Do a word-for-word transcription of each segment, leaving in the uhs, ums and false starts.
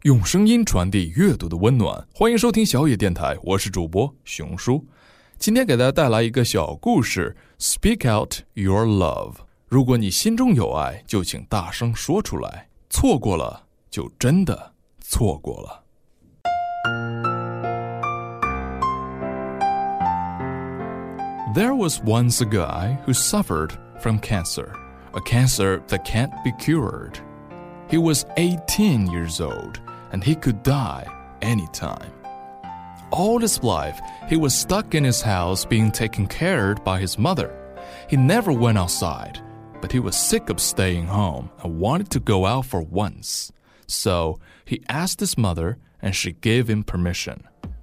用声音传递阅读的温暖，欢迎收听小野电台，我是主播熊叔。今天给大家带来一个小故事 Speak out your love。 如果你心中有爱，就请大声说出来，错过了就真的错过了。There was once a guy who suffered from cancer, a cancer that can't be cured. He was eighteen years old, and he could die anytime. All his life, he was stuck in his house being taken care of by his mother. He never went outside, but he was sick of staying home and wanted to go out for once. So he asked his mother, and she gave him permission.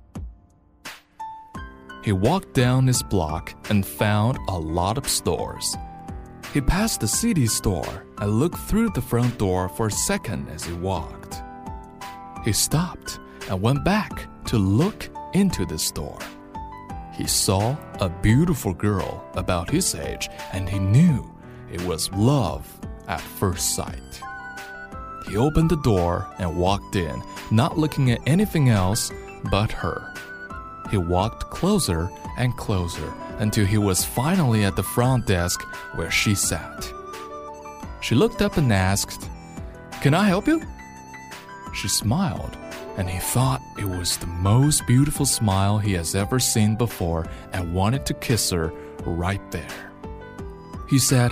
He walked down his block and found a lot of stores. He passed the C D store and looked through the front door for a second as he walked. He stopped and went back to look into the store. He saw a beautiful girl about his age, and he knew it was love at first sight. He opened the door and walked in, not looking at anything else but her.He walked closer and closer until he was finally at the front desk where she sat. She looked up and asked, "Can I help you?" She smiled, and he thought it was the most beautiful smile he has ever seen before and wanted to kiss her right there. He said,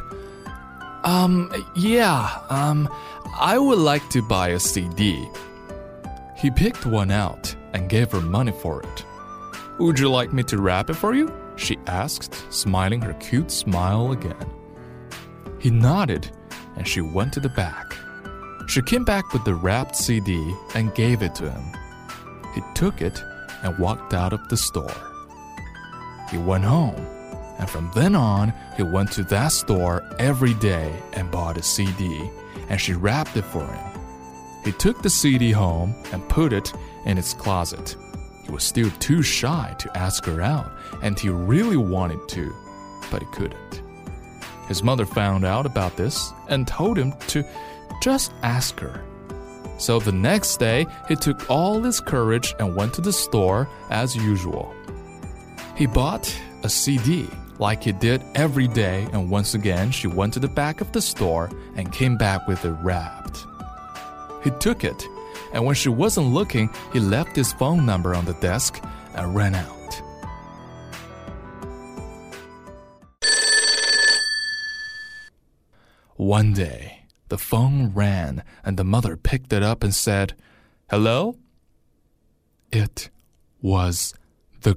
Um, yeah, um, I would like to buy a C D. He picked one out and gave her money for it.Would you like me to wrap it for you? She asked, smiling her cute smile again. He nodded, and she went to the back. She came back with the wrapped C D and gave it to him. He took it and walked out of the store. He went home, and from then on, he went to that store every day and bought a C D, and she wrapped it for him. He took the C D home and put it in his closet.He was still too shy to ask her out, and he really wanted to, but he couldn't. His mother found out about this and told him to just ask her. So the next day, he took all his courage and went to the store as usual. He bought a C D like he did every day, and once again, she went to the back of the store and came back with it wrapped. He took it.And when she wasn't looking, he left his phone number on the desk and ran out. One day, the phone rang and the mother picked it up and said, "Hello?" It was the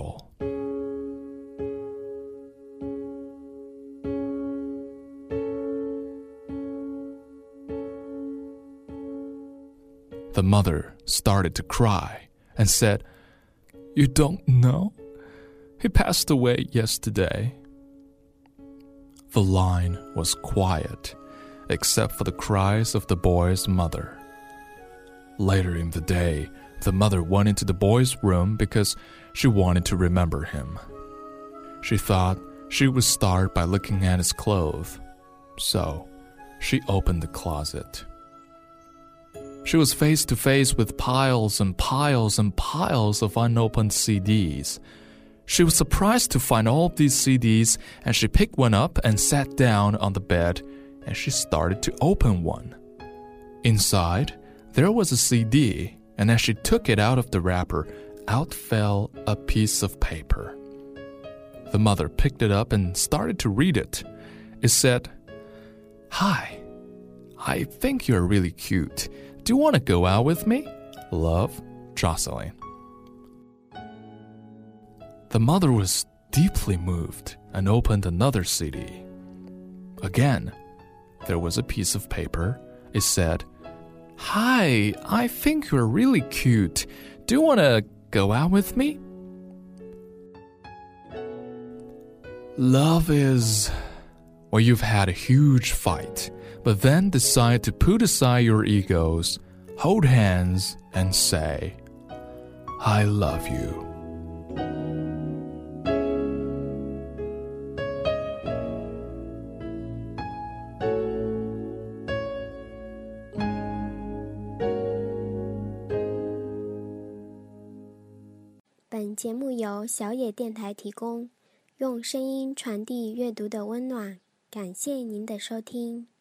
girl.The mother started to cry and said, "You don't know? He passed away yesterday." The line was quiet, except for the cries of the boy's mother. Later in the day, the mother went into the boy's room because she wanted to remember him. She thought she would start by looking at his clothes, so she opened the closet.She was face to face with piles and piles and piles of unopened C Ds. She was surprised to find all of these C Ds, and she picked one up and sat down on the bed, and she started to open one. Inside, there was a C D, and as she took it out of the wrapper, out fell a piece of paper. The mother picked it up and started to read it. It said, "Hi, I think you're really cute.Do you want to go out with me? Love, Jocelyn." The mother was deeply moved and opened another C D. Again, there was a piece of paper. It said, "Hi, I think you're really cute. Do you want to go out with me?" Love is, well, you've had a huge fight.But then decide to put aside your egos, hold hands, and say, "I love you." 本节目由小野电台提供，用声音传递阅读的温暖。感谢您的收听。